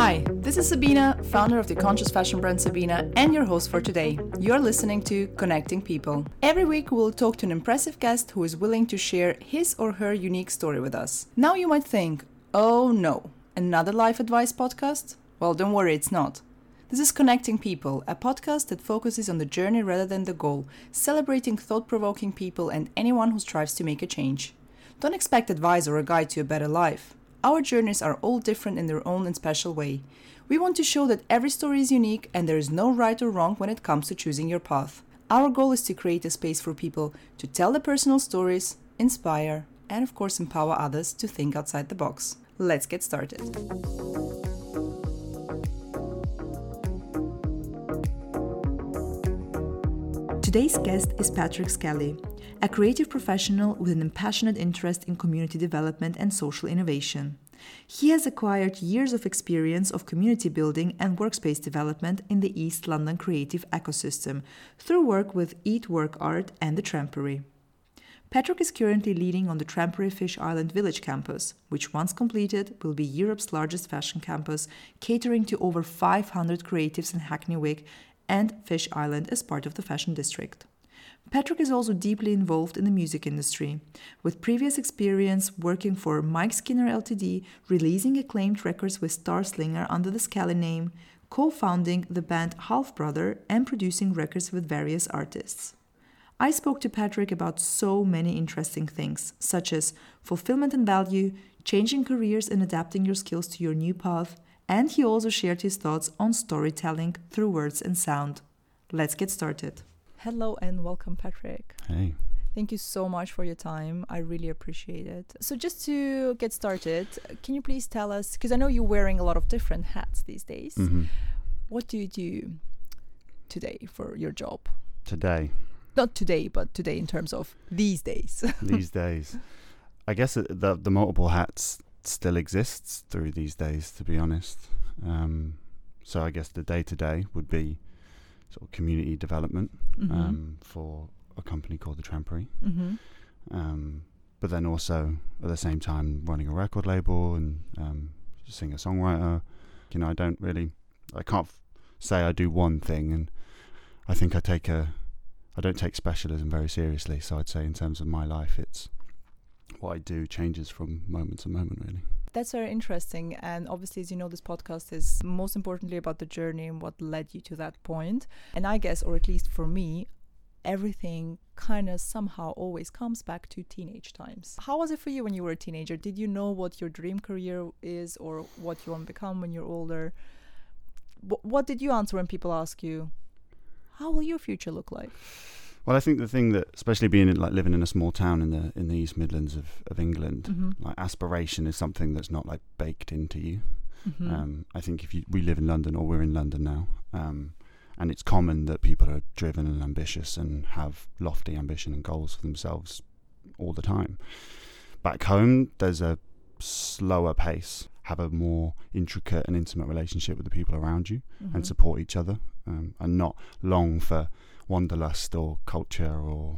Hi, this is Sabina, founder of the conscious fashion brand Sabina, and your host for today. You're listening to Connecting People. Every week we'll talk to an impressive guest who is willing to share his or her unique story with us. Now you might think, oh no, another life advice podcast? Well, don't worry, it's not. This is Connecting People, a podcast that focuses on the journey rather than the goal, celebrating thought-provoking people and anyone who strives to make a change. Don't expect advice or a guide to a better life. Our journeys are all different in their own and special way. We want to show that every story is unique and there is no right or wrong when it comes to choosing your path. Our goal is to create a space for people to tell their personal stories, inspire, and of course empower others to think outside the box. Let's get started. Today's guest is Patrick Skelly, a creative professional with an passionate interest in community development and social innovation. He has acquired years of experience of community building and workspace development in the East London creative ecosystem through work with Eat Work Art and the Trampery. Patrick is currently leading on the Trampery Fish Island Village campus, which once completed will be Europe's largest fashion campus, catering to over 500 creatives in Hackney Wick and Fish Island as part of the fashion district. Patrick is also deeply involved in the music industry, with previous experience working for Mike Skinner Ltd, releasing acclaimed records with Star Slinger under the Skelly name, co-founding the band Half Brother, and producing records with various artists. I spoke to Patrick about so many interesting things, such as fulfillment and value, changing careers and adapting your skills to your new path, and he also shared his thoughts on storytelling through words and sound. Let's get started. Hello and welcome, Patrick. Hey. Thank you so much for your time. I really appreciate it. So just to get started, can you please tell us, because I know you're wearing a lot of different hats these days. Mm-hmm. What do you do today for your job? Today? Not today, but today in terms of these days. These days. I guess the multiple hats still exists through these days, to be honest. So I guess the day-to-day would be sort of community development for a company called the Trampery. Mm-hmm. But then also at the same time running a record label and singer-songwriter. You know, I can't say I do one thing, and I think I don't take specialism very seriously. So I'd say in terms of my life, it's what I do changes from moment to moment, really. That's very interesting. And obviously, as you know, this podcast is most importantly about the journey and what led you to that point. And I guess, or at least for me, everything kind of somehow always comes back to teenage times. How was it for you when you were a teenager? Did you know what your dream career is or what you want to become when you're older? What did you answer when people ask you, how will your future look like? Well, I think the thing that, especially living in a small town in the East Midlands of England, like aspiration is something that's not like baked into you. Mm-hmm. I think we live in London, or we're in London now, and it's common that people are driven and ambitious and have lofty ambition and goals for themselves all the time. Back home, there's a slower pace, have a more intricate and intimate relationship with the people around you, and support each other, and not long for wanderlust or culture, or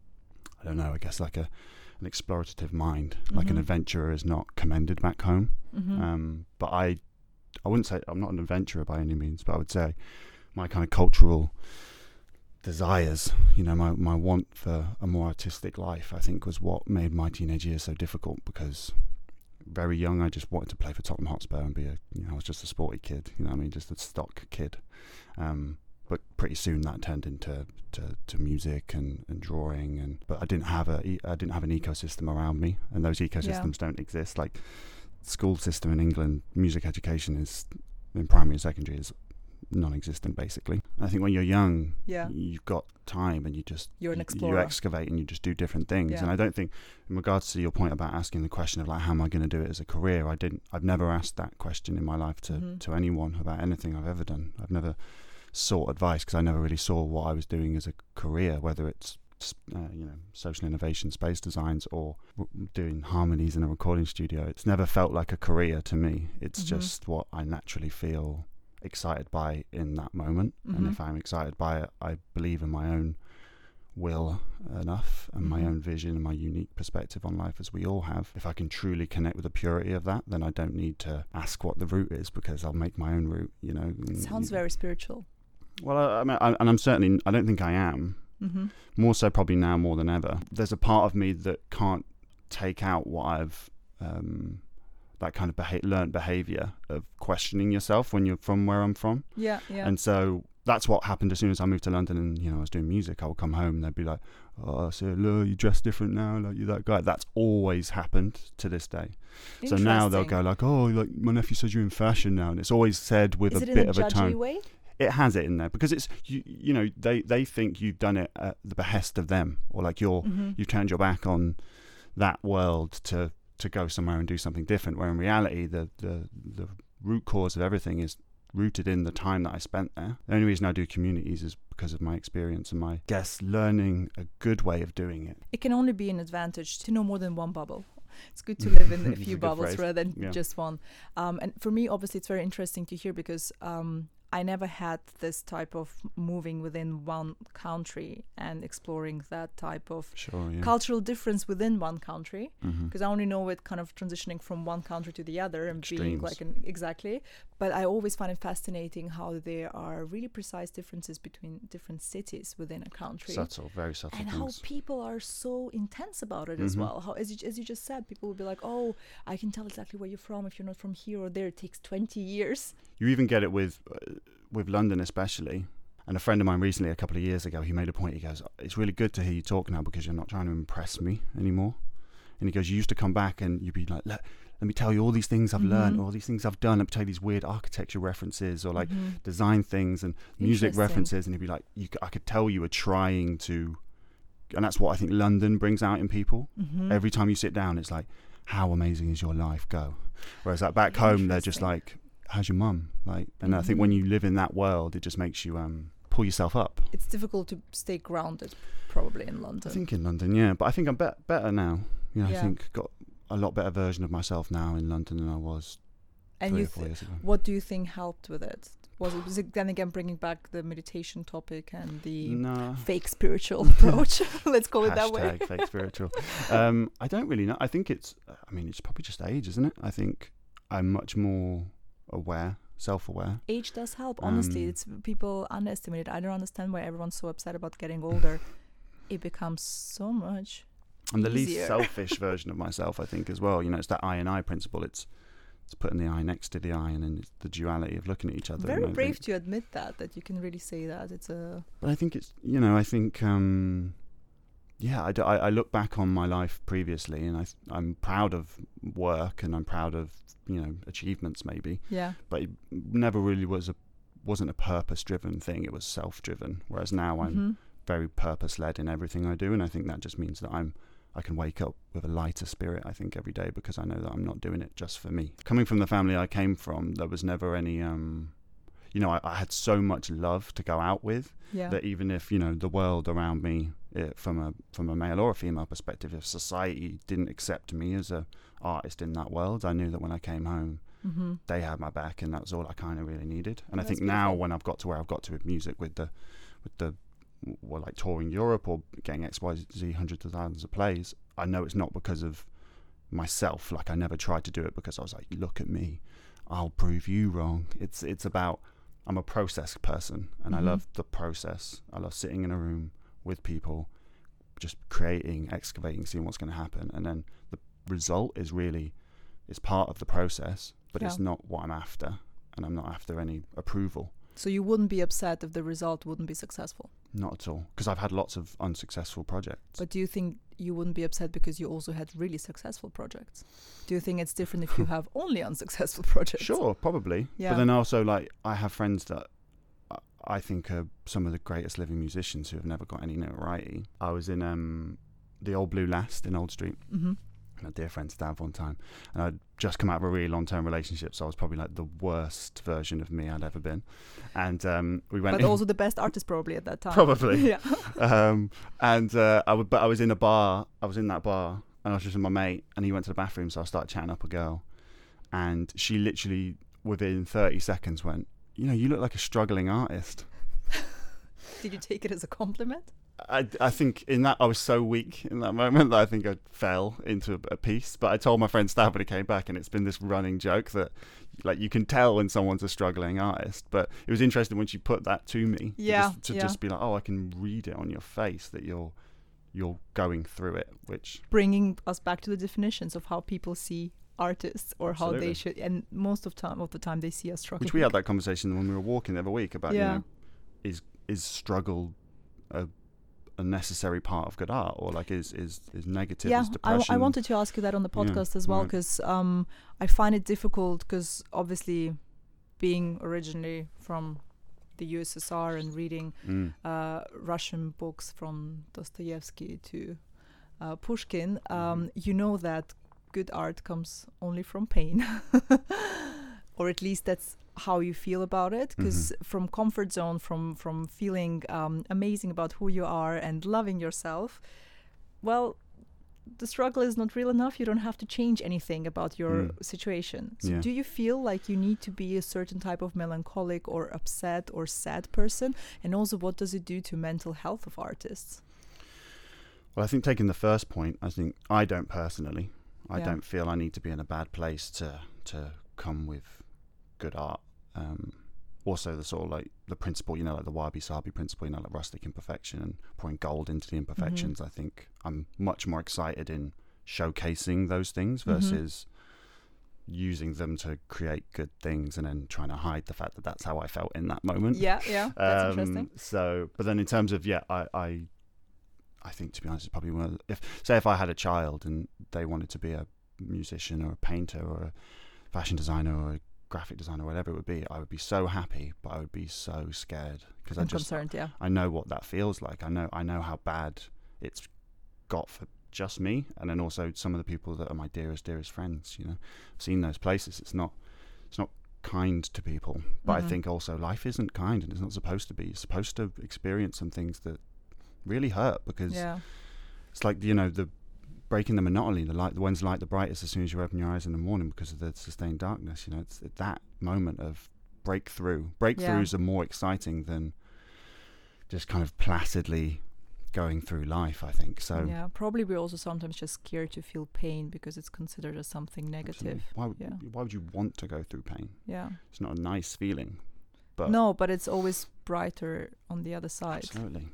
I don't know, I guess like an explorative mind. Like an adventurer is not commended back home. But I wouldn't say I'm not an adventurer by any means, but I would say my kind of cultural desires, you know, my want for a more artistic life, I think was what made my teenage years so difficult, because very young I just wanted to play for Tottenham Hotspur and I was just a sporty kid, you know what I mean, just a stock kid. But pretty soon that turned into music and drawing, but I didn't have an ecosystem around me, and those ecosystems don't exist. Like school system in England, music education is in primary and secondary is non-existent basically. I think when you're young, you've got time and you're an explorer. You excavate and you just do different things. And I don't think, in regards to your point about asking the question of like, how am I going to do it as a career? I've never asked that question in my life to anyone about anything I've ever done. I've never sought advice because I never really saw what I was doing as a career, whether it's social innovation, space designs, or doing harmonies in a recording studio. It's never felt like a career to me. It's just what I naturally feel excited by in that moment. And if I'm excited by it, I believe in my own will enough and my own vision and my unique perspective on life, as we all have, if I can truly connect with the purity of that, then I don't need to ask what the route is, because I'll make my own route, you know. It sounds very spiritual. Well, I mean, and I'm certainly, I don't think I am. More so probably now more than ever. There's a part of me that can't take out what I've that kind of learned behavior of questioning yourself when you're from where I'm from. Yeah. And so that's what happened as soon as I moved to London and, you know, I was doing music. I would come home and they'd be like, oh, so look, you dress different now, like you're that guy. That's always happened to this day. So now they'll go like, oh, like my nephew says you're in fashion now. And it's always said with a bit of a tone. Way? It has it in there because it's, you know, they think you've done it at the behest of them, or like you've turned your back on that world to go somewhere and do something different, where in reality the root cause of everything is rooted in the time that I spent there. The only reason I do communities is because of my experience and my learning a good way of doing it. It can only be an advantage to know more than one bubble. It's good to live in a few bubbles rather than just one. And for me, obviously, it's very interesting to hear because I never had this type of moving within one country and exploring that type of cultural difference within one country, because I only know it kind of transitioning from one country to the other and being like exactly. But I always find it fascinating how there are really precise differences between different cities within a country. Subtle, very subtle and things. how people are so intense about it as well. How, as you just said, people will be like, oh, I can tell exactly where you're from if you're not from here or there. It takes 20 years. You even get it with London especially. And a friend of mine recently, a couple of years ago, he made a point. He goes, it's really good to hear you talk now because you're not trying to impress me anymore. And he goes, you used to come back and you'd be like, let me tell you all these things I've learned, all these things I've done. Let me tell you these weird architecture references or like design things and music references. And he'd be like, I could tell you were trying to, and that's what I think London brings out in people. Every time you sit down, it's like, how amazing is your life? Go. Whereas like back home, they're just like, how's your mum? Like, and I think when you live in that world, it just makes you pull yourself up. It's difficult to stay grounded, probably in London. I think in London, yeah, but I think I'm better now. You know, I think got a lot better version of myself now in London than I was 3 or 4 years ago. What do you think helped with it? Was it then again bringing back the meditation topic and the fake spiritual approach? Let's call it that way. Fake spiritual. I don't really know. I think it's probably just age, isn't it? I think I'm much more aware, self-aware. Age does help, honestly. It's people underestimate it. I don't understand why everyone's so upset about getting older. It becomes so much I'm the easier. least selfish version of myself, I think, as well. You know, it's that I and I principle. It's putting the I next to the I, and then it's the duality of looking at each other. Very brave to admit that you can really say that. But I think it's, you know, I think I look back on my life previously, and I'm proud of work, and I'm proud of, you know, achievements maybe. Yeah. But it never really wasn't a purpose-driven thing. It was self-driven. Whereas now I'm very purpose-led in everything I do, and I think that just means that I can wake up with a lighter spirit, I think, every day, because I know that I'm not doing it just for me. Coming from the family I came from, there was never any you know, I had so much love to go out with that even if, you know, the world around me, from a male or a female perspective, if society didn't accept me as a artist in that world, I knew that when I came home, they had my back, and that was all I kind of really needed. And I think now, when I've got to where I've got to with music, with the like touring Europe or getting XYZ hundreds of thousands of plays, I know it's not because of myself. Like, I never tried to do it because I was like, look at me, I'll prove you wrong. It's about, I'm a process person, and I love the process. I love sitting in a room with people, just creating, excavating, seeing what's going to happen, and then the result is really, it's part of the process, but it's not what I'm after, and I'm not after any approval. So you wouldn't be upset if the result wouldn't be successful? Not at all, because I've had lots of unsuccessful projects. But do you think you wouldn't be upset because you also had really successful projects? Do you think it's different if you have only unsuccessful projects? Sure, probably. Yeah. But then also, like, I have friends that I think are some of the greatest living musicians who have never got any notoriety. I was in the Old Blue Last in Old Street. My dear friend Stav one time, and I'd just come out of a really long-term relationship, so I was probably like the worst version of me I'd ever been. And we went, but also the best artist probably at that time. Probably, yeah. I was in a bar. I was in that bar, and I was just with my mate, and he went to the bathroom, so I started chatting up a girl, and she literally within 30 seconds went, "You know, you look like a struggling artist." Did you take it as a compliment? I think in that I was so weak in that moment that I think I fell into a piece. But I told my friend Stab when he came back, and it's been this running joke that like you can tell when someone's a struggling artist. But it was interesting when she put that to me. To just be like, oh, I can read it on your face that you're going through it, which bringing us back to the definitions of how people see artists or Absolutely. how they should, and most of the time they see us struggling. Which we had that conversation when we were walking the other week about, you know, is struggle a necessary part of good art, or like is negative, is depression? I wanted to ask you that on the podcast as well, because I find it difficult, because obviously being originally from the USSR and reading Russian books from Dostoevsky to Pushkin, you know that good art comes only from pain, or at least that's how you feel about it, because from comfort zone, from feeling amazing about who you are and loving yourself, well, the struggle is not real enough. You don't have to change anything about your situation. So do you feel like you need to be a certain type of melancholic or upset or sad person? And also, what does it do to mental health of artists? Well, I think taking the first point, I think I don't personally. I don't feel I need to be in a bad place to come with good art. Also the sort of like the principle, you know, like the wabi-sabi principle, you know, like rustic imperfection and pouring gold into the imperfections. I think I'm much more excited in showcasing those things versus using them to create good things and then trying to hide the fact that that's how I felt in that moment. That's interesting. So, but then in terms of, I think, to be honest, it's probably one of the, if I had a child and they wanted to be a musician or a painter or a fashion designer or a graphic designer or whatever it would be, I would be so happy, but I would be so scared because I know what that feels like. I know how bad it's got for just me, and then also some of the people that are my dearest friends. You know, I've seen those places. It's not kind to people, but I think also life isn't kind, and it's not supposed to be. You're supposed to experience some things that really hurt, because it's like, you know, the breaking the monotony, the one's light the brightest as soon as you open your eyes in the morning because of the sustained darkness. You know, it's that moment of breakthroughs are more exciting than just kind of placidly going through life, I think. So probably we're also sometimes just scared to feel pain because it's considered as something negative. Why would you want to go through pain? It's not a nice feeling. But it's always brighter on the other side. Absolutely.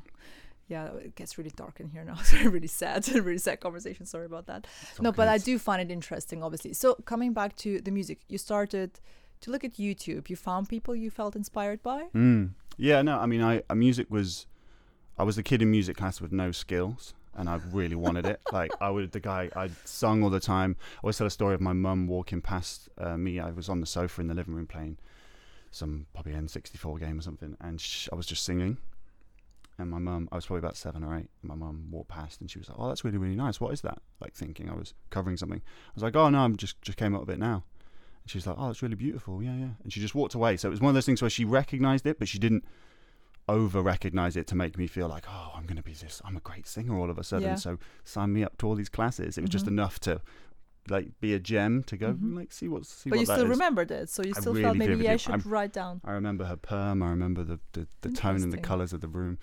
It gets really dark in here now. It's a really sad conversation. Sorry about that. But I do find it interesting, obviously. So coming back to the music, you started to look at YouTube. You found people you felt inspired by? I mean, I was the kid in music class with no skills, and I really wanted it. Like, I'd sung all the time. I always tell a story of my mum walking past me. I was on the sofa in the living room playing some probably N64 game or something, and I was just singing. And my mum, I was probably about 7 or 8, and my mum walked past and she was like, "Oh, that's really, really nice. What is that?" Like, thinking I was covering something. I was like, "Oh, no, I'm just came up with it now." And she was like, "Oh, it's really beautiful. Yeah." And she just walked away. So it was one of those things where she recognized it, but she didn't over-recognize it to make me feel like, oh, I'm a great singer all of a sudden. So sign me up to all these classes. It was just enough to like be a gem to go see what that is. But you still remembered it, so you still felt maybe I should write down. I remember her perm. I remember the tone and the colours of the room.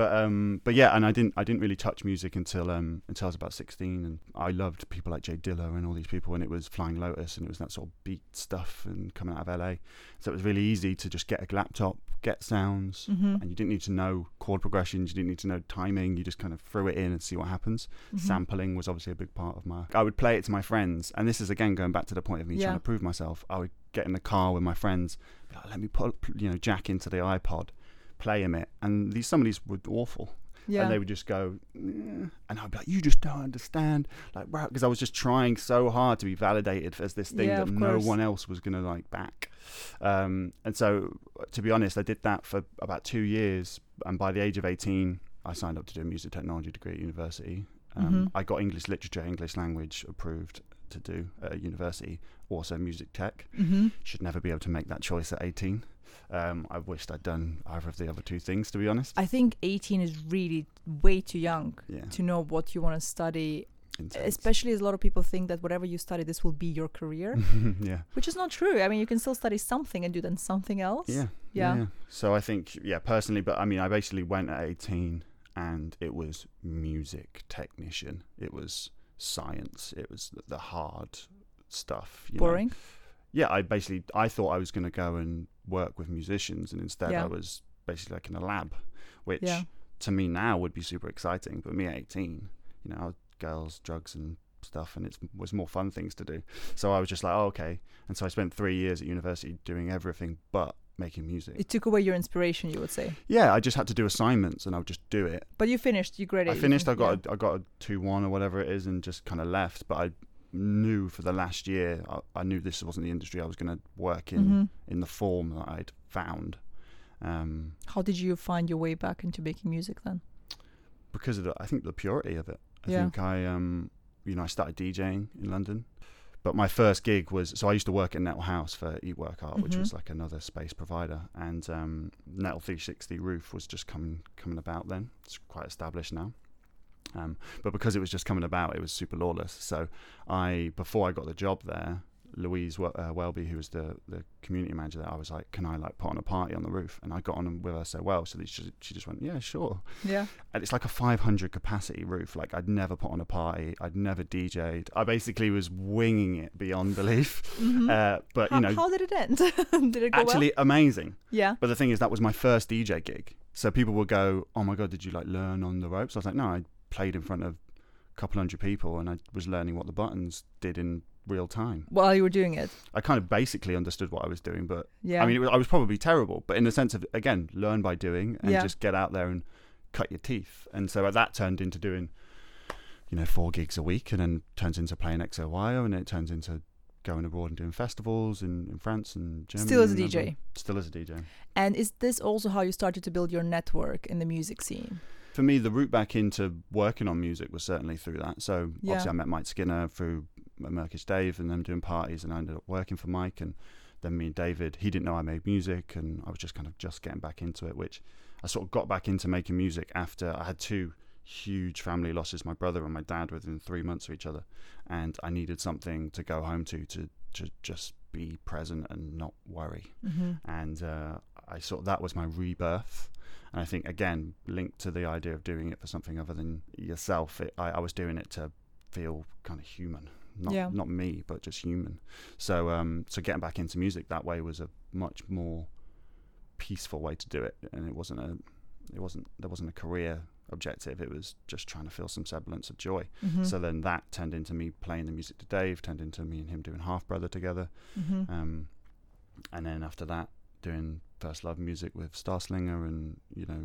But yeah, and I didn't really touch music until I was about 16, and I loved people like Jay Dilla and all these people, and it was Flying Lotus, and it was that sort of beat stuff and coming out of LA. So it was really easy to just get a laptop, get sounds, and you didn't need to know chord progressions, you didn't need to know timing, you just kind of threw it in and see what happens. Sampling was obviously a big part of I would play it to my friends, and this is again going back to the point of me trying to prove myself. I would get in the car with my friends, be like, let me put jack into the iPod, play him it, and some of these were awful. And they would just go, and I'd be like, "You just don't understand," like, because I was just trying so hard to be validated as this thing that no one else was gonna like back. And so, to be honest, I did that for about 2 years, and by the age of 18, I signed up to do a music technology degree at university. I got English literature, English language approved to do at university, also music tech. Should never be able to make that choice at 18. I wished I'd done either of the other two things, to be honest. I think 18 is really way too young to know what you want to study. Intense. Especially as a lot of people think that whatever you study, this will be your career. Which is not true. I mean, you can still study something and do then something else. Yeah. So I think, personally, but I mean, I basically went at 18 and it was music technician. It was science. It was the hard stuff. Boring? Yeah, I thought I was going to go and work with musicians, and instead I was basically like in a lab, which to me now would be super exciting. But me at 18, girls, drugs and stuff, and it was more fun things to do. So I was just like, oh, okay. And so I spent 3 years at university doing everything but making music. It took away your inspiration, you would say? Yeah, I just had to do assignments and I would just do it. But you finished, you graded. I finished, I got a 2-1 or whatever it is, and just kind of left. But I knew for the last year, I knew this wasn't the industry I was going to work in the form that I'd found. How did you find your way back into making music then? Because of I think the purity of it. I think I started DJing in London, but my first gig was, so I used to work at Nettle House for Eat Work Art, which was like another space provider, and Nettle 360 Roof was just coming about then. It's quite established now. But because it was just coming about, it was super lawless. So before I got the job there, Louise Welby, who was the community manager there, I was like, can I put on a party on the roof? And I got on with her so well, so that she just went, yeah, sure. Yeah. And it's like a 500 capacity roof. Like, I'd never put on a party. I'd never DJ'd. I basically was winging it beyond belief. But how did it end? Did it go actually well? Amazing? Yeah. But the thing is, that was my first DJ gig. So people would go, oh my God, did you learn on the ropes? I was like, no, I played in front of a couple hundred people and I was learning what the buttons did in real time while you were doing it. I kind of basically understood what I was doing, but I mean, I was probably terrible, but in the sense of, again, learn by doing and just get out there and cut your teeth. And so that turned into doing 4 gigs a week, and then turns into playing XOYO, and it turns into going abroad and doing festivals in France and Germany. Still as a DJ. Still as a DJ. And is this also how you started to build your network in the music scene? For me, the route back into working on music was certainly through that. So obviously I met Mike Skinner through Murkish Dave and them doing parties, and I ended up working for Mike. And then me and David, he didn't know I made music, and I was just kind of getting back into it, which I sort of got back into making music after I had 2 huge family losses, my brother and my dad, within 3 months of each other. And I needed something to go home to just be present and not worry. And that was my rebirth. And I think, again, linked to the idea of doing it for something other than yourself, I was doing it to feel kind of human, not me, but just human. So getting back into music that way was a much more peaceful way to do it, and there wasn't a career objective. It was just trying to feel some semblance of joy. So then that turned into me playing the music to Dave, turned into me and him doing Half Brother together, and then after that doing First Love music with Starslinger, and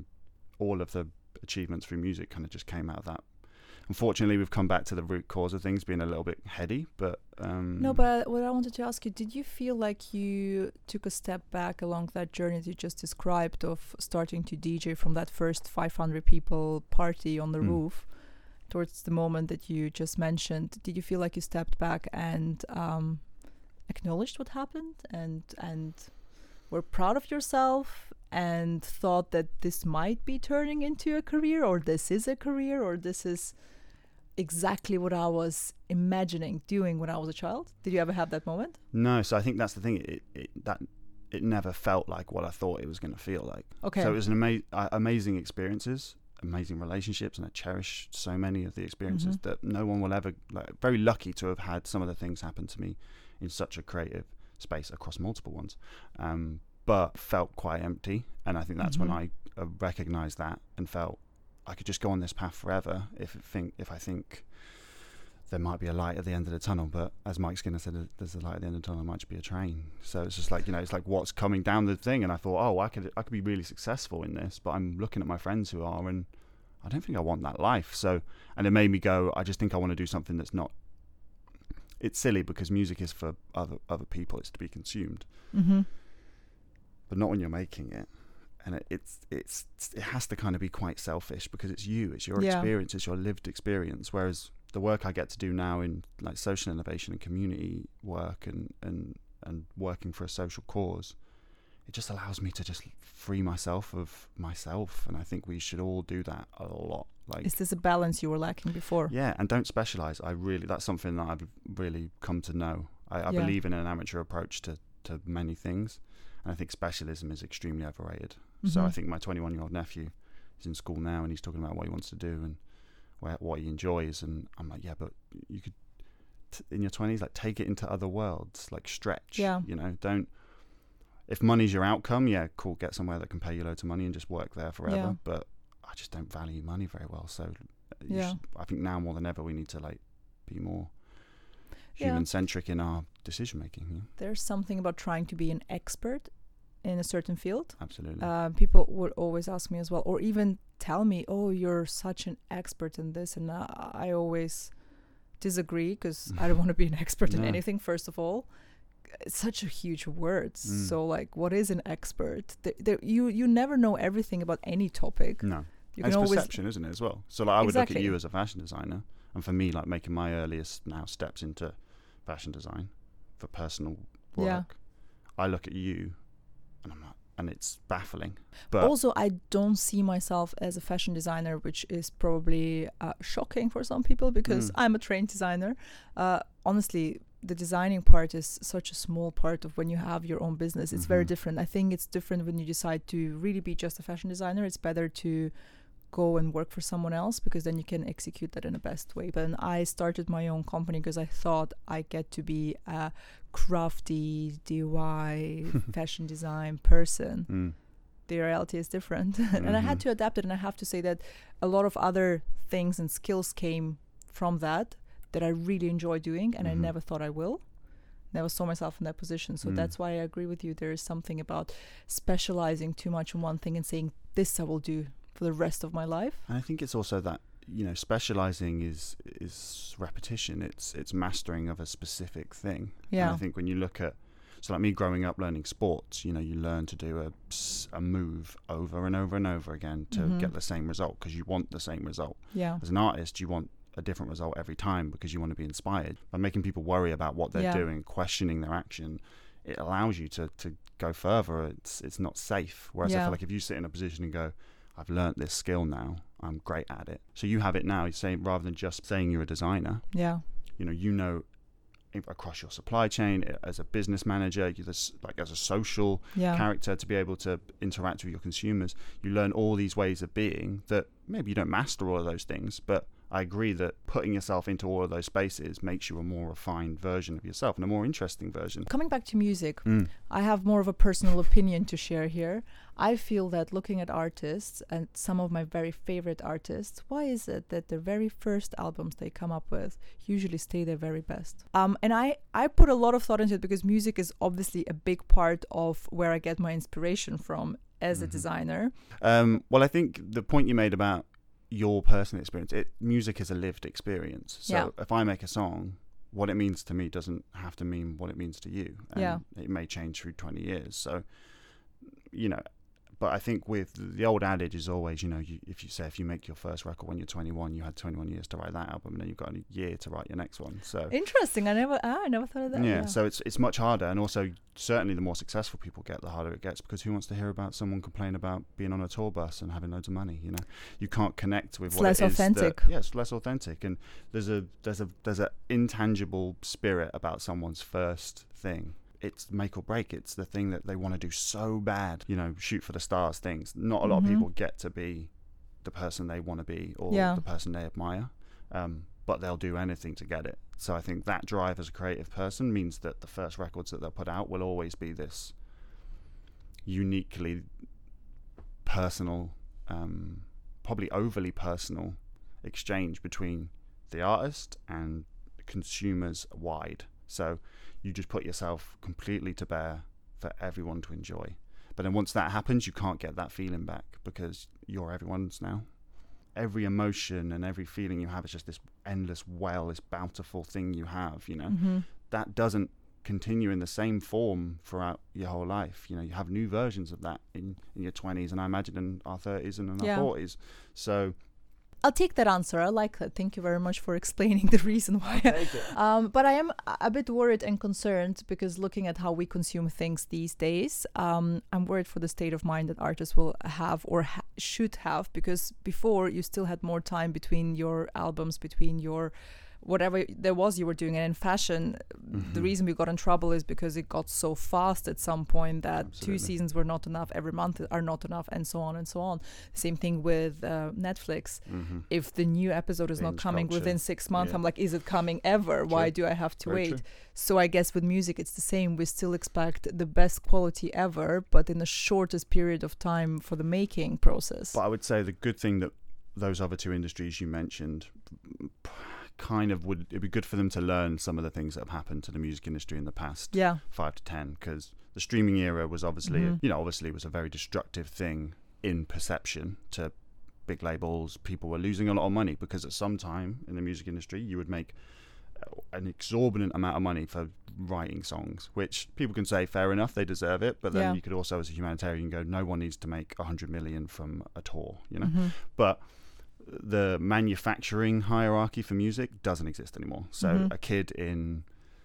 all of the achievements through music kind of just came out of that. Unfortunately, we've come back to the root cause of things being a little bit heady, but no, but what I wanted to ask you, did you feel like you took a step back along that journey that you just described of starting to DJ from that first 500 people party on the roof towards the moment that you just mentioned? Did you feel like you stepped back and acknowledged what happened and were proud of yourself and thought that this might be turning into a career, or this is a career, or this is exactly what I was imagining doing when I was a child? Did you ever have that moment? No, so I think that's the thing. It never felt like what I thought it was going to feel like. Okay. So it was an amazing experiences, amazing relationships, and I cherish so many of the experiences that no one will ever. Very lucky to have had some of the things happen to me in such a creative space across multiple ones, but felt quite empty. And I think that's when I recognized that and felt I could just go on this path forever if I think there might be a light at the end of the tunnel. But as Mike Skinner said, there's a light at the end of the tunnel, it might just be a train. So it's just like, it's like what's coming down the thing. And I thought, oh, I could be really successful in this, but I'm looking at my friends who are, and I don't think I want that life. So, and it made me go, I just think I want to do something that's not. It's silly because music is for other people. It's to be consumed, but not when you're making it. And it has to kind of be quite selfish because it's you. It's your experience. It's your lived experience. Whereas the work I get to do now in like social innovation and community work and working for a social cause, it just allows me to just free myself of myself. And I think we should all do that a lot. Like, is this a balance you were lacking before? Yeah, and don't specialize. That's something that I've really come to know. I believe in an amateur approach to many things, and I think specialism is extremely overrated. So I think my 21-year-old nephew, he's in school now and he's talking about what he wants to do and what he enjoys. And I'm like, yeah, but you could, in your 20s, like take it into other worlds, like stretch, you know, don't, if money's your outcome, yeah, cool, get somewhere that can pay you loads of money and just work there forever. Yeah. But I just don't value money very well. So I think now more than ever, we need to like be more human-centric in our decision-making. Yeah? There's something about trying to be an expert in a certain field. Absolutely. People would always ask me as well, or even tell me, oh, you're such an expert in this. And I always disagree, because I don't want to be an expert in anything, first of all. It's such a huge word. So like, what is an expert? You never know everything about any topic. No. It's perception, isn't it, as well? So like, I would look at you as a fashion designer, and for me, like making my earliest now steps into fashion design for personal work, I look at you and I'm like, and it's baffling. But also, I don't see myself as a fashion designer, which is probably shocking for some people, because I'm a trained designer. Honestly, the designing part is such a small part of when you have your own business. It's very different. I think it's different when you decide to really be just a fashion designer. It's better to go and work for someone else, because then you can execute that in the best way. But I started my own company because I thought I get to be a crafty DIY fashion design person. The reality is different. And I had to adapt it. And I have to say that a lot of other things and skills came from that I really enjoy doing, and I never thought I will. Never saw myself in that position. So that's why I agree with you. There is something about specializing too much in one thing and saying, this I will do for the rest of my life. And I think it's also that, you know, specializing is repetition. It's mastering of a specific thing. Yeah. And I think when you look at, so like me growing up learning sports, you know, you learn to do a move over and over and over again to get the same result, because you want the same result. Yeah. As an artist, you want a different result every time, because you want to be inspired. By making people worry about what they're doing, questioning their action, it allows you to go further. It's not safe. Whereas I feel like if you sit in a position and go, I've learnt this skill now, I'm great at it. So you have it now. You say, rather than just saying you're a designer, you know across your supply chain, as a business manager, like as a social character, to be able to interact with your consumers, you learn all these ways of being that maybe you don't master all of those things, but I agree that putting yourself into all of those spaces makes you a more refined version of yourself and a more interesting version. Coming back to music, I have more of a personal opinion to share here. I feel that looking at artists, and some of my very favorite artists, why is it that the very first albums they come up with usually stay their very best? And I put a lot of thought into it, because music is obviously a big part of where I get my inspiration from as a designer. Well, I think the point you made about your personal experience, music is a lived experience. So if I make a song, what it means to me doesn't have to mean what it means to you. And it may change through 20 years. So, you know, but I think with the old adage is always, you know, if you make your first record when you're 21, you had 21 years to write that album, and then you've got a year to write your next one. So interesting. I never thought of that. Yeah. So it's much harder, and also certainly the more successful people get, the harder it gets, because who wants to hear about someone complain about being on a tour bus and having loads of money? You know, you can't connect with it's what less it is. Authentic. It's less authentic, and there's a intangible spirit about someone's first thing. It's make or break. It's the thing that they want to do so bad, you know, shoot for the stars things. Not a lot of people get to be the person they want to be, or the person they admire, but they'll do anything to get it. So I think that drive as a creative person means that the first records that they'll put out will always be this uniquely personal, probably overly personal exchange between the artist and consumers wide. So you just put yourself completely to bear for everyone to enjoy. But then once that happens, you can't get that feeling back, because you're everyone's now. Every emotion and every feeling you have is just this endless well, this bountiful thing you have, you know. That doesn't continue in the same form throughout your whole life. You know, you have new versions of that in your 20s, and I imagine in our 30s and in our 40s. So I'll take that answer. I like that. Thank you very much for explaining the reason why. But I am a bit worried and concerned, because looking at how we consume things these days, I'm worried for the state of mind that artists will have or should have, because before you still had more time between your albums, between your whatever there was you were doing. And in fashion, the reason we got in trouble is because it got so fast at some point that Absolutely. 2 seasons were not enough, every month are not enough, and so on and so on. Same thing with Netflix. If the new episode is not Binge coming culture. within 6 months, Yeah. I'm like, is it coming ever? Why do I have to Very wait? true. So I guess with music it's the same. We still expect the best quality ever, but in the shortest period of time for the making process. But I would say the good thing that those other two industries you mentioned kind of would, it'd be good for them to learn some of the things that have happened to the music industry in the past 5 to 10, because the streaming era was obviously obviously was a very destructive thing in perception to big labels. People were losing a lot of money because at some time in the music industry you would make an exorbitant amount of money for writing songs, which people can say fair enough, they deserve it, but then you could also as a humanitarian go, no one needs to make 100 million from a tour, you know. But the manufacturing hierarchy for music doesn't exist anymore. So a kid in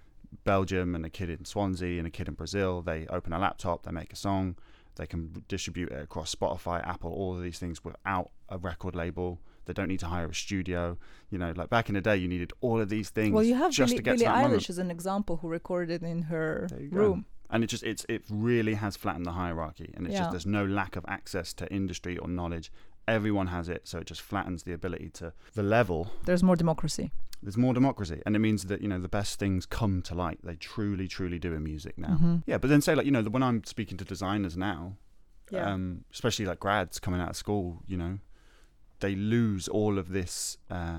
Belgium and a kid in Swansea and a kid in Brazil, they open a laptop, they make a song, they can distribute it across Spotify, Apple, all of these things without a record label. They don't need to hire a studio. You know, like back in the day, you needed all of these things. Well, you have just to get Billie to that Eilish moment. as an example who recorded in her There you go. room. And it really has flattened the hierarchy, and it's Yeah. just there's no lack of access to industry or knowledge. Everyone has it, so it just flattens the ability to the level. There's more democracy. There's more democracy, and it means that, you know, the best things come to light. They truly, truly do in music now. Yeah, but then say, like, you know, when I'm speaking to designers now, especially like grads coming out of school, you know, they lose all of this,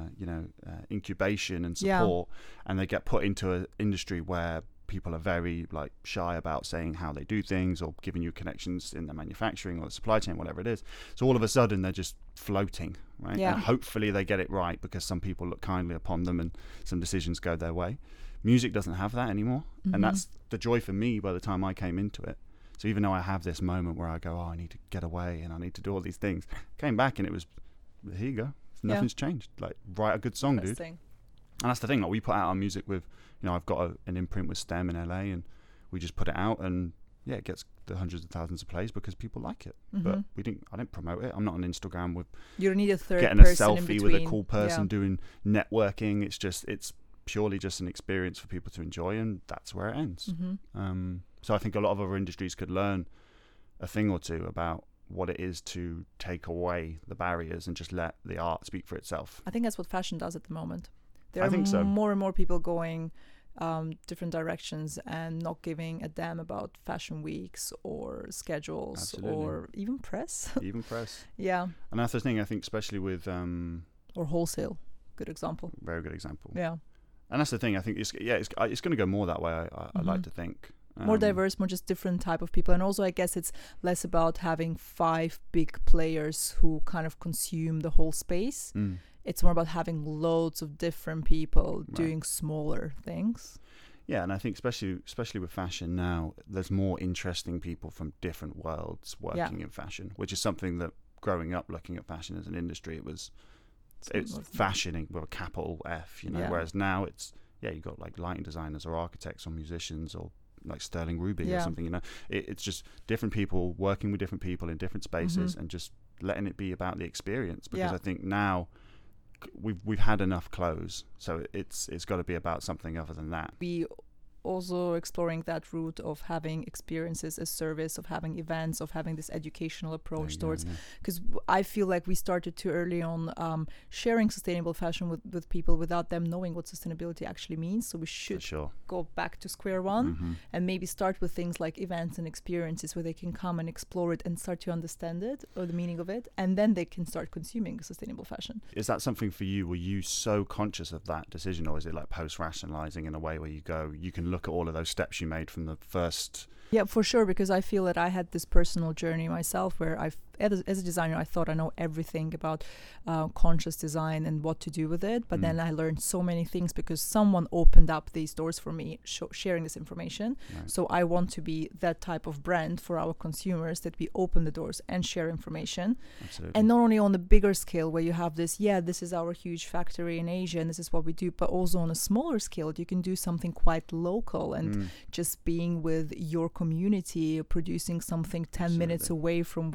incubation and support, and they get put into an industry where people are very like shy about saying how they do things or giving you connections in the manufacturing or the supply chain, whatever it is. So all of a sudden they're just floating, right? Yeah. And hopefully they get it right because some people look kindly upon them and some decisions go their way. Music doesn't have that anymore. And that's the joy for me by the time I came into it. So even though I have this moment where I go, oh, I need to get away and I need to do all these things, came back and it was, here you go. Nothing's changed. Like, write a good song, dude. And that's the thing. Like, we put out our music with, you know, I've got an imprint with STEM in LA, and we just put it out, and yeah, it gets the hundreds of thousands of plays because people like it. But I didn't promote it. I'm not on Instagram with you don't need a third getting a person in selfie between. with a cool person doing networking. It's purely just an experience for people to enjoy, and that's where it ends. So I think a lot of other industries could learn a thing or two about what it is to take away the barriers and just let the art speak for itself. I think that's what fashion does at the moment. There I think so. more and more people going different directions and not giving a damn about fashion weeks or schedules. Absolutely. Or even press. Even press. Yeah. And that's the thing, I think, especially with Or wholesale. Good example. very good example. Yeah. And that's the thing, I think it's going to go more that way. I like to think More diverse, more just different type of people. And also I guess it's less about having 5 big players who kind of consume the whole space. It's more about having loads of different people doing smaller things. Yeah, and I think especially with fashion now, there's more interesting people from different worlds working in fashion, which is something that growing up looking at fashion as an industry, it's fashioning with a capital F, you know. Yeah. Whereas now it's you've got like lighting designers or architects or musicians or like Sterling Ruby or something, you know. It's just different people working with different people in different spaces and just letting it be about the experience, because I think now we've had enough clothes, so it's got to be about something other than that. We also exploring that route of having experiences as service, of having events, of having this educational approach towards, because I feel like we started too early on sharing sustainable fashion with people without them knowing what sustainability actually means. So we should go back to square one and maybe start with things like events and experiences where they can come and explore it and start to understand it or the meaning of it, and then they can start consuming sustainable fashion. Is that something for you? Were you so conscious of that decision, or is it like post-rationalizing in a way where you can look at all of those steps you made from the first? Yeah, for sure, because I feel that I had this personal journey myself where as a designer, I thought I know everything about conscious design and what to do with it. But then I learned so many things because someone opened up these doors for me, sharing this information. Right. So I want to be that type of brand for our consumers, that we open the doors and share information. Absolutely. And not only on the bigger scale where you have this, this is our huge factory in Asia and this is what we do, but also on a smaller scale, you can do something quite local and just being with your community, producing something 10 minutes away from where your studio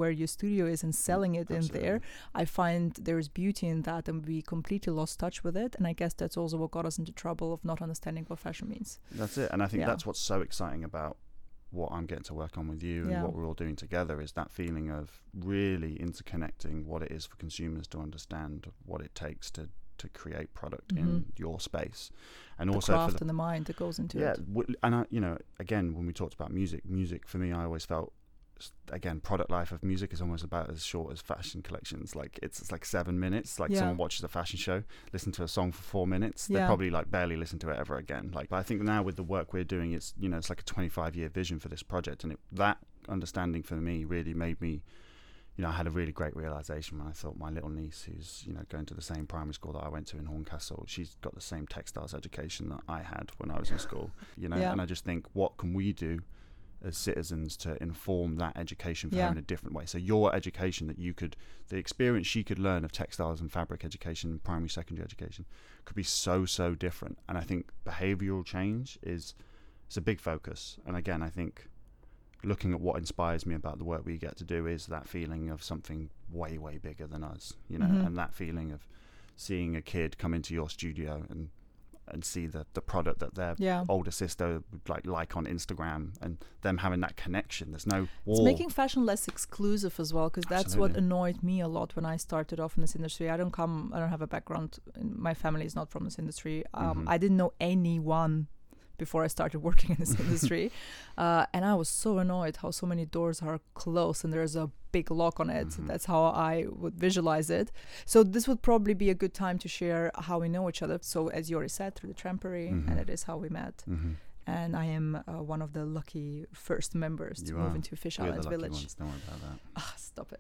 studio is and selling it Absolutely. in there. I find there's beauty in that, and we completely lost touch with it. And I guess that's also what got us into trouble of not understanding what fashion means. That's it. And I think Yeah. that's what's so exciting about what I'm getting to work on with you and Yeah. what we're all doing together, is that feeling of really interconnecting what it is for consumers to understand what it takes to create product in your space, and The also craft for the and the mind that goes into yeah it. and I, you know, again, when we talked about music for me, I always felt, again, product life of music is almost about as short as fashion collections. Like it's like 7 minutes. Like Yeah. someone watches a fashion show, listen to a song for 4 minutes, they Yeah. probably like barely listen to it ever again. Like, but I think now with the work we're doing, it's, you know, it's like a 25-year vision for this project, and that understanding for me really made me, you know, I had a really great realization when I thought my little niece, who's, you know, going to the same primary school that I went to in Horncastle, she's got the same textiles education that I had when I was in school, you know. Yeah. And I just think, what can we do as citizens to inform that education for Yeah. her in a different way? So your education that you could, the experience she could learn of textiles and fabric education, primary, secondary education, could be so different. And I think behavioral change is a big focus. And again, I think looking at what inspires me about the work we get to do is that feeling of something way bigger than us, you know, and that feeling of seeing a kid come into your studio and see the product that their Yeah. older sister would like on Instagram, and them having that connection. There's no wall. It's making fashion less exclusive as well, because that's what Absolutely. annoyed me a lot when I started off in this industry. I don't have a background. My family is not from this industry. I didn't know anyone before I started working in this industry. And I was so annoyed how so many doors are closed and there's a big lock on it. That's how I would visualize it. So this would probably be a good time to share how we know each other. So as you already said, through the Trampery, and it is how we met. And I am one of the lucky first members to move into Fish We're Island the lucky Village. ones. Don't worry about that. Ah, stop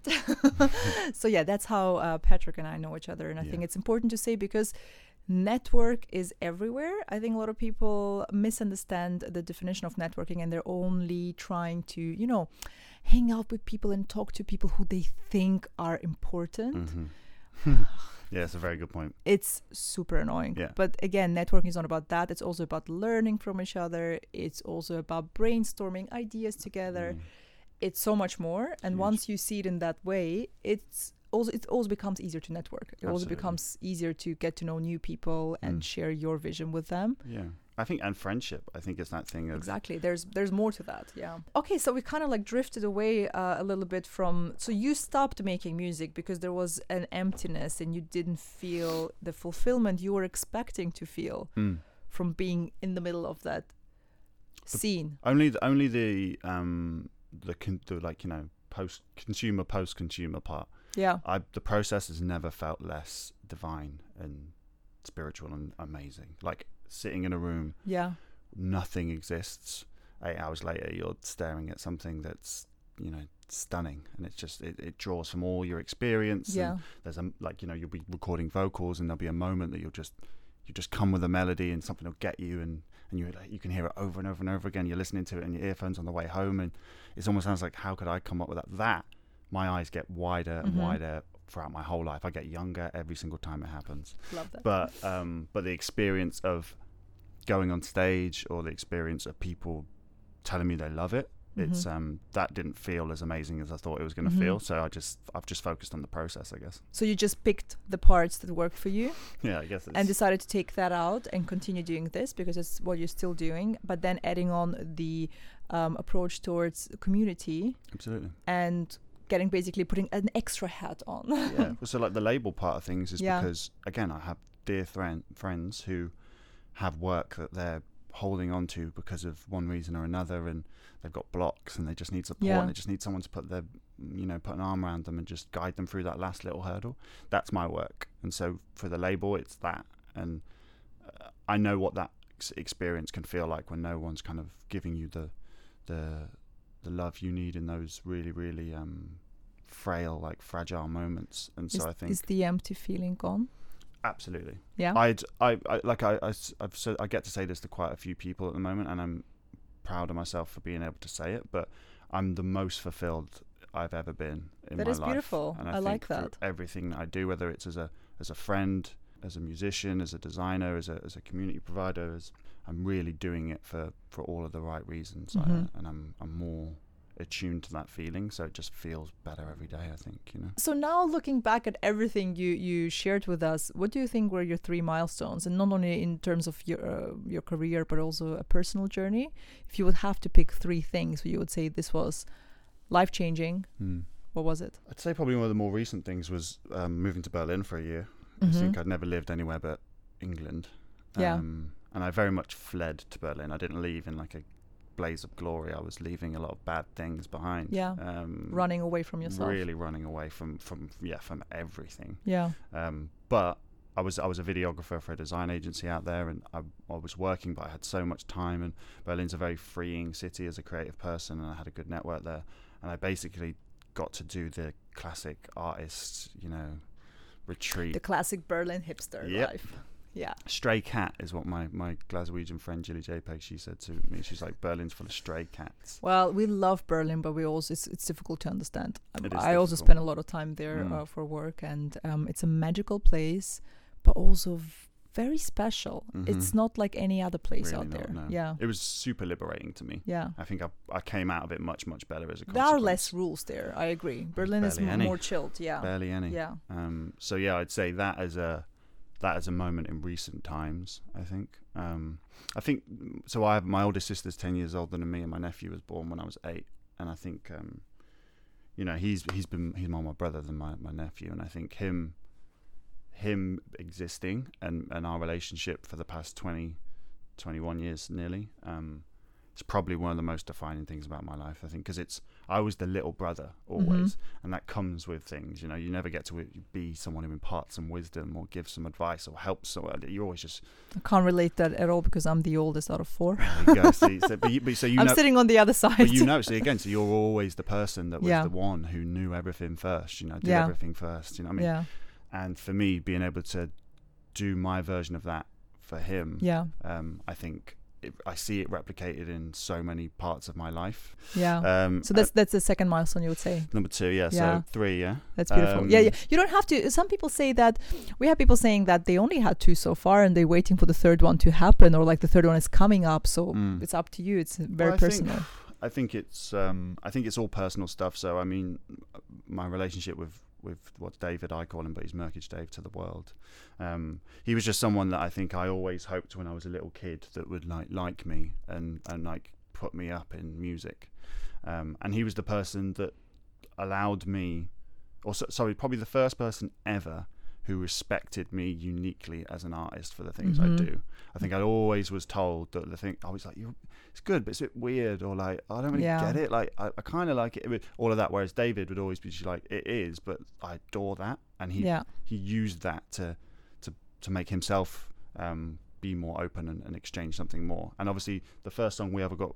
it. So yeah, that's how Patrick and I know each other. And I think it's important to say, because network is everywhere. I think a lot of people misunderstand the definition of networking, and they're only trying to, you know, hang out with people and talk to people who they think are important. Yeah, it's a very good point. It's super annoying. Yeah. But again, networking is not about that. It's also about learning from each other. It's also about brainstorming ideas together. It's so much more. And Huge. once you see it in that way, it also becomes easier to network. It also Absolutely. becomes easier to get to know new people and share your vision with them. Yeah. I think, and friendship, I think it's that thing of Exactly. There's more to that. Yeah. Okay, so we kind of like drifted away a little bit from. So you stopped making music because there was an emptiness and you didn't feel the fulfillment you were expecting to feel from being in the middle of that scene. only the like, you know, post consumer part. Yeah. The process has never felt less divine and spiritual and amazing. Like sitting in a room, Yeah. nothing exists. 8 hours later, you're staring at something that's, you know, stunning, and it's just it draws from all your experience. Yeah. And there's like, you know, you'll be recording vocals, and there'll be a moment that you just come with a melody, and something will get you, and you can hear it over and over and over again. You're listening to it in your earphones on the way home, and it almost sounds like, how could I come up with that? My eyes get wider and wider throughout my whole life. I get younger every single time it happens. Love that. But the experience of going on stage, or the experience of people telling me they love it, it's that didn't feel as amazing as I thought it was going to feel. So I've just focused on the process, I guess. So you just picked the parts that worked for you Yeah, I guess it's, and decided to take that out and continue doing this because it's what you're still doing, but then adding on the approach towards community absolutely. and basically putting an extra hat on. Yeah. Well, so like the label part of things is Yeah. because, again, I have dear friends who have work that they're holding on to because of one reason or another, and they've got blocks and they just need support, Yeah. and they just need someone to put an arm around them and just guide them through that last little hurdle. That's my work. And so for the label, it's that. And I know what that experience can feel like when no one's kind of giving you the love you need in those really, really frail, like fragile moments. And so I think Is the empty feeling gone? absolutely. Yeah. I get to say this to quite a few people at the moment, and I'm proud of myself for being able to say it, but I'm the most fulfilled I've ever been in my life. That is beautiful. And I think like through that. everything that I do, whether it's as a friend, as a musician, as a designer, as a community provider, I'm really doing it for all of the right reasons. And I'm more attuned to that feeling, so it just feels better every day, I think, you know. So now looking back at everything you shared with us, what do you think were your 3 milestones? And not only in terms of your career, but also a personal journey. If you would have to pick 3 things, you would say this was life-changing. What was it? I'd say probably one of the more recent things was moving to Berlin for a year. Mm-hmm. I think I'd never lived anywhere but England. And I very much fled to Berlin. I didn't leave in like a blaze of glory. I was leaving a lot of bad things behind. Running away from yourself. Really running away from everything. But I was a videographer for a design agency out there, and I was working, but I had so much time, and Berlin's a very freeing city as a creative person, and I had a good network there, and I basically got to do the classic artist, you know, retreat. The classic Berlin hipster life. Yeah. Stray cat is what my Glaswegian friend Julie JPEG, she said to me. She's like, Berlin's full of stray cats. Well, we love Berlin, but we also it's difficult to understand. I also difficult. spend a lot of time there for work, and it's a magical place, but also very special. It's not like any other place really out there. No. Yeah. It was super liberating to me. Yeah. I think I came out of it much better as a consequence. There are less rules there. I agree. Berlin is more chilled. Yeah. Barely any. Yeah. So yeah, I'd say that as a moment in recent times, I think. I think so. My oldest sister's 10 years older than me, and my nephew was born when I was 8. And I think, you know, he's more my brother than my nephew, and I think him existing and our relationship for the past 21 years nearly, it's probably one of the most defining things about my life, I think, because I was the little brother always, and that comes with things, you know. You never get to be someone who imparts some wisdom or gives some advice or helps someone. You're always just... I can't relate that at all because I'm the oldest out of 4. There you go. So you I'm know, sitting on the other side. But you know, so again, so you're always the person that was the one who knew everything first, you know, did everything first, you know what I mean? Yeah. And for me, being able to do my version of that for him, I think I see it replicated in so many parts of my life. Yeah. So that's the second milestone, you would say. Number 2, So 3, That's beautiful. Yeah. You don't have to. Some people say that. We have people saying that they only had 2 so far, and they're waiting for the third one to happen, or like the third one is coming up. So it's up to you. It's very personal. I think it's all personal stuff. So I mean, my relationship with what David, I call him, but he's Merkage Dave to the world. He was just someone that I think I always hoped when I was a little kid that would like me and like put me up in music. And he was the person that allowed me, probably the first person ever who respected me uniquely as an artist for the things I do. I think I always was told that the thing, I was like, it's good, but it's a bit weird, or like, I don't really get it. Like, I kind of like it, all of that. Whereas David would always be like, it is, but I adore that. And he used that to make himself be more open and exchange something more. And obviously the first song we ever got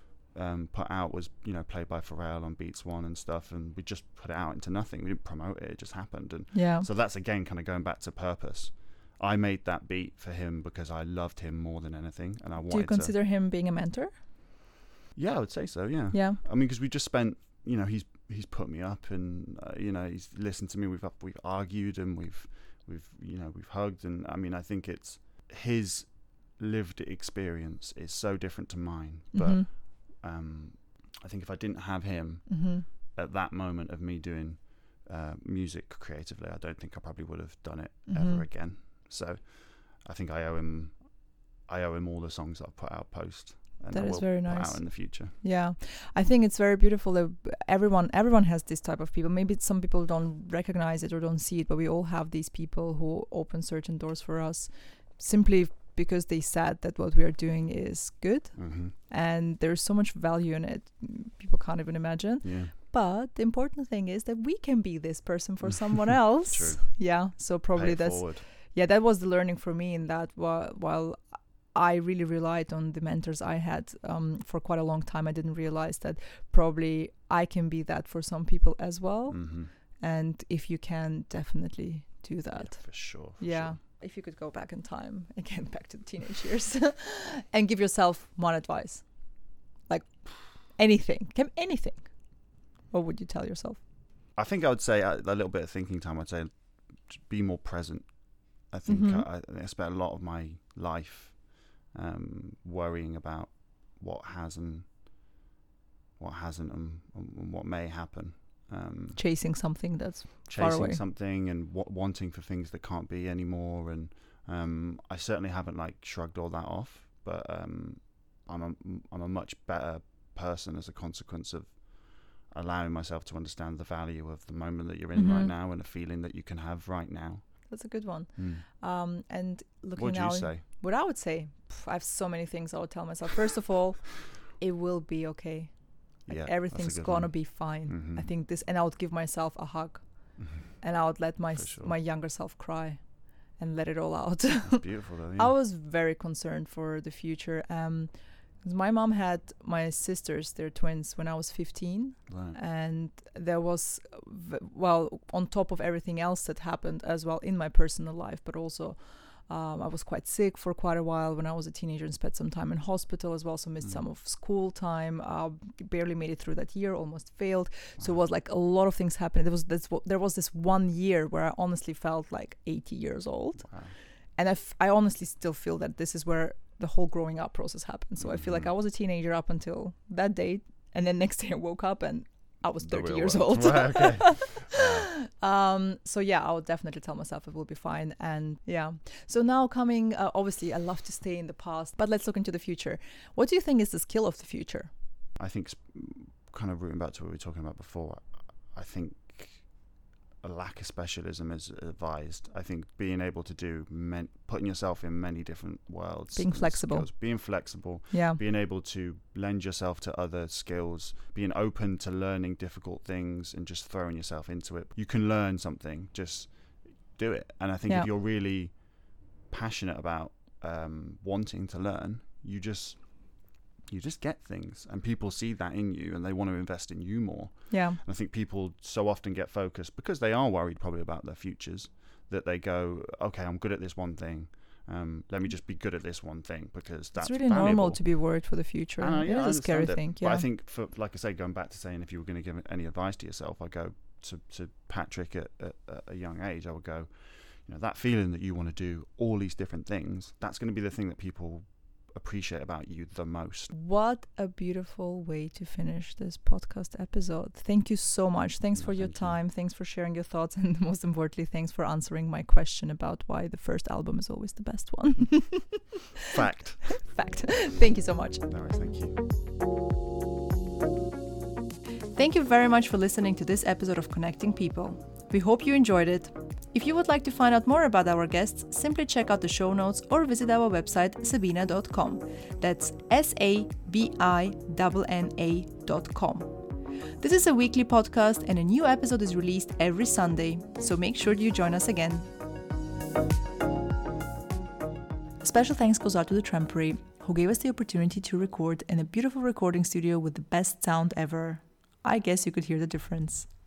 put out was, you know, played by Pharrell on Beats One and stuff, and we just put it out into nothing. We didn't promote it just happened. And so that's again kind of going back to purpose. I made that beat for him because I loved him more than anything, and I wanted to... Do you consider him being a mentor? Yeah, I would say so. Yeah. I mean, because we just spent, you know, he's put me up, and you know, he's listened to me. We've argued, and we've hugged, and I mean, I think it's his lived experience is so different to mine, but I think if I didn't have him at that moment of me doing music creatively, I don't think I probably would have done it ever again. So I think I owe him all the songs that I've put out post, and that is very nice. Put out in the future. Yeah, I think it's very beautiful that everyone has this type of people. Maybe some people don't recognize it or don't see it, but we all have these people who open certain doors for us simply because they said that what we are doing is good, and there's so much value in it, people can't even imagine. But the important thing is that we can be this person for someone else. True. Yeah, so probably that was the learning for me, in that while I really relied on the mentors I had for quite a long time, I didn't realize that probably I can be that for some people as well. And if you can, definitely do that. Yeah, for sure. Sure. If you could go back in time, again, back to the teenage years, and give yourself one advice, like anything, what would you tell yourself? I think I would say a little bit of thinking time. I'd say be more present. I think I spent a lot of my life worrying about what has and what hasn't and what may happen. Chasing something that's chasing far away. something and wanting for things that can't be anymore. And I certainly haven't like shrugged all that off, but I'm a much better person as a consequence of allowing myself to understand the value of the moment that you're in right now and the feeling that you can have right now. That's a good one. And looking what would now, you say? What I would say, I have so many things I would tell myself. First of all, it will be okay. Like everything's gonna be fine. I think this, and I would give myself a hug, and I would let my younger self cry, and let it all out. That's beautiful, though. Yeah. I was very concerned for the future. 'Cause my mom had my sisters, they're twins, when I was 15, right. And there was, on top of everything else that happened as well in my personal life, but also I was quite sick for quite a while when I was a teenager and spent some time in hospital as well, so missed some of school time, barely made it through that year, almost failed. So it was like a lot of things happening. There was this 1 year where I honestly felt like 80 years old. Wow. And I honestly still feel that this is where the whole growing up process happened. So I feel like I was a teenager up until that date, and then next day I woke up and I was 30 years old. Right, okay. So yeah, I would definitely tell myself it will be fine. And yeah, so now coming, obviously I love to stay in the past, but let's look into the future. What do you think is the skill of the future? I think, kind of rooting back to what we were talking about before, I think a lack of specialism is advised. I think being able to do putting yourself in many different worlds, being flexible, being able to lend yourself to other skills, being open to learning difficult things and just throwing yourself into it. You can learn something, just do it. And I think if you're really passionate about wanting to learn, you just get things, and people see that in you and they want to invest in you more. And I think people so often get focused because they are worried probably about their futures, that they go, okay, I'm good at this one thing, let me just be good at this one thing, because that's really valuable. Normal to be worried for the future. It is a scary thing. But I think, for, like I say, going back to saying if you were going to give any advice to yourself, I go to Patrick at a young age, I would go, that feeling that you want to do all these different things, that's going to be the thing that people appreciate about you the most. What a beautiful way to finish this podcast episode. Thank you so much. Thanks for your time. Thanks for sharing your thoughts, and most importantly, thanks for answering my question about why the first album is always the best one. Fact. Thank you so much. No worries, thank you. Thank you very much for listening to this episode of Connecting People. We hope you enjoyed it. If you would like to find out more about our guests, simply check out the show notes or visit our website sabina.com. That's sabina.com. This is a weekly podcast, and a new episode is released every Sunday, so make sure you join us again. Special thanks goes out to the Trampery, who gave us the opportunity to record in a beautiful recording studio with the best sound ever. I guess you could hear the difference.